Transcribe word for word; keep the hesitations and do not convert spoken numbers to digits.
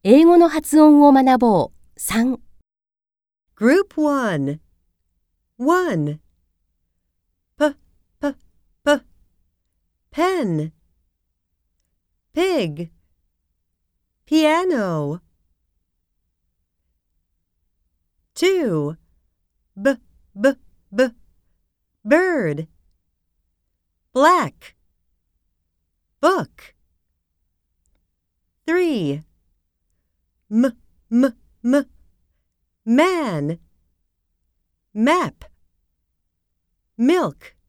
英語の発音を学ぼう。さん Group one. one. P, p, p. Pen. Pig. Piano. two. B, b, b. Bird. Black. Book. three. M, m, m. Man. Map. Milk.